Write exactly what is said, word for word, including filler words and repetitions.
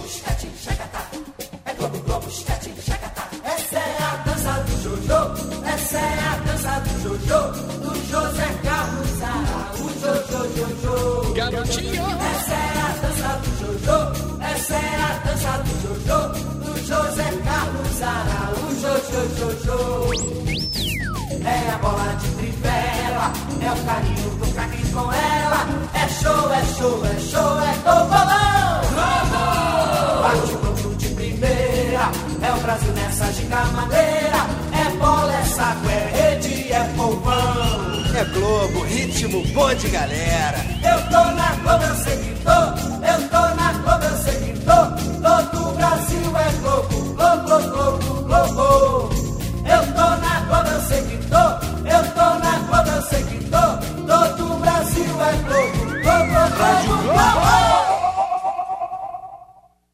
esquete, chacatá. É Globo, Globo, esquete, chacatá. Essa é a dança do Jojo. Essa é a dança do Jojo. Do José Carlos Araújo, Jojo, Jojo. Garotinho. Essa é a dança do Jojo. Essa é a dança do Jojo. Do José Carlos Araújo, Jojo, Jojo. É a bola de trivela, é o carinho do craque com ela. É show, é show, é show, é gol, bolão! Bate o gol de primeira, é o Brasil nessa giga maneira. É bola, é saco, é rede, é povão. É Globo, ritmo bom de galera. Eu tô na Globo, eu sei que